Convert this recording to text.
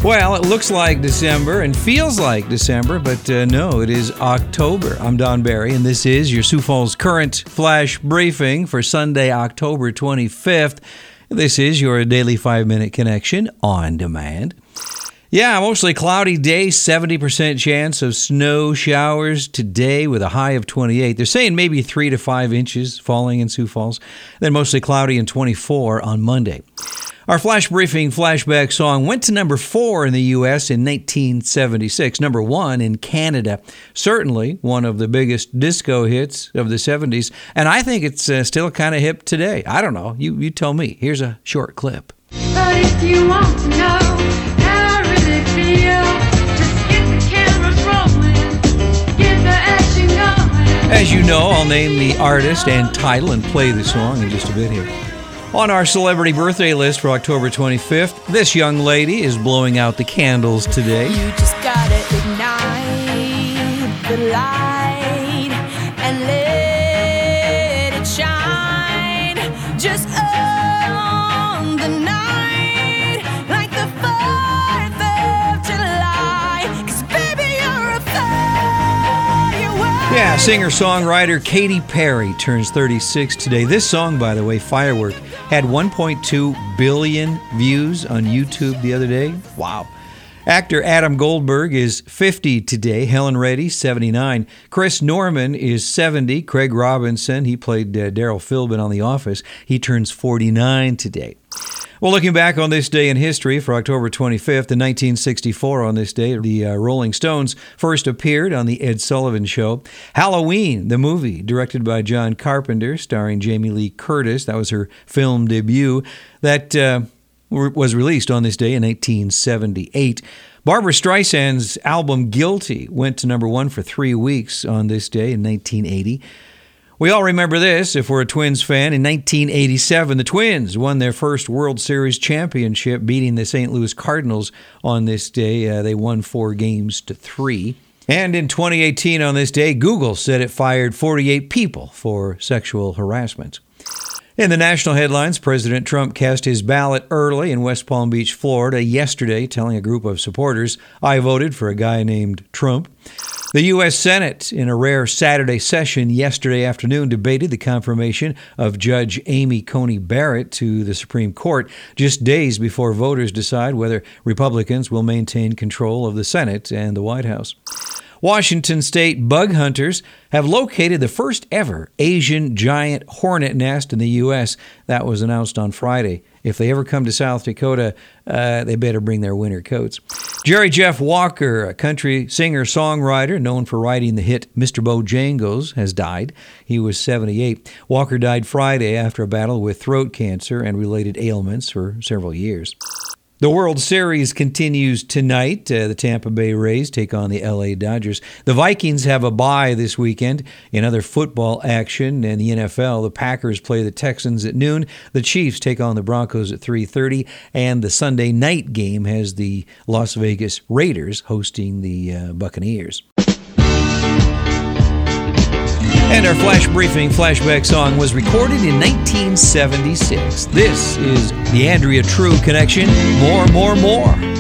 Well, it looks like December and feels like December, but no, it is October. I'm Don Barry, and this is your Sioux Falls Current Flash Briefing for Sunday, October 25th. This is your daily 5-minute connection on demand. Yeah, mostly cloudy day, 70% chance of snow showers today with a high of 28. They're saying maybe 3 to 5 inches falling in Sioux Falls, then mostly cloudy and 24 on Monday. Our Flash Briefing flashback song went to number 4 in the U.S. in 1976, number 1 in Canada. Certainly one of the biggest disco hits of the 70s, and I think it's still kind of hip today. I don't know. You tell me. Here's a short clip. But if you want to know how I really feel, just get the cameras rolling, get the action going. As you know, I'll name the artist and title and play the song in just a bit here. On our celebrity birthday list for October 25th, this young lady is blowing out the candles today. You just gotta ignite the light and let it shine just on the night like the 4th of July. 'Cause baby, you're a firework. Yeah, singer-songwriter Katy Perry turns 36 today. This song, by the way, Firework, had 1.2 billion views on YouTube the other day. Wow. Actor Adam Goldberg is 50 today. Helen Reddy, 79. Chris Norman is 70. Craig Robinson, he played Daryl Philbin on The Office. He turns 49 today. Well, looking back on this day in history for October 25th, in 1964 on this day, the Rolling Stones first appeared on The Ed Sullivan Show. Halloween, the movie, directed by John Carpenter, starring Jamie Lee Curtis. That was her film debut. That was released on this day in 1978. Barbra Streisand's album Guilty went to number 1 for 3 weeks on this day in 1980. We all remember this if we're a Twins fan. In 1987, the Twins won their first World Series championship, beating the St. Louis Cardinals on this day. They won 4-3. And in 2018 on this day, Google said it fired 48 people for sexual harassment. In the national headlines, President Trump cast his ballot early in West Palm Beach, Florida yesterday, telling a group of supporters, "I voted for a guy named Trump." The U.S. Senate, in a rare Saturday session yesterday afternoon, debated the confirmation of Judge Amy Coney Barrett to the Supreme Court just days before voters decide whether Republicans will maintain control of the Senate and the White House. Washington State bug hunters have located the first ever Asian giant hornet nest in the U.S. That was announced on Friday. If they ever come to South Dakota, they better bring their winter coats. Jerry Jeff Walker, a country singer-songwriter known for writing the hit Mr. Bojangles, has died. He was 78. Walker died Friday after a battle with throat cancer and related ailments for several years. The World Series continues tonight. The Tampa Bay Rays take on the LA Dodgers. The Vikings have a bye this weekend. In other football action in the NFL, the Packers play the Texans at noon. The Chiefs take on the Broncos at 3:30. And the Sunday night game has the Las Vegas Raiders hosting the Buccaneers. And our Flash Briefing flashback song was recorded in 1976. This is the Andrea True Connection. More, more, more.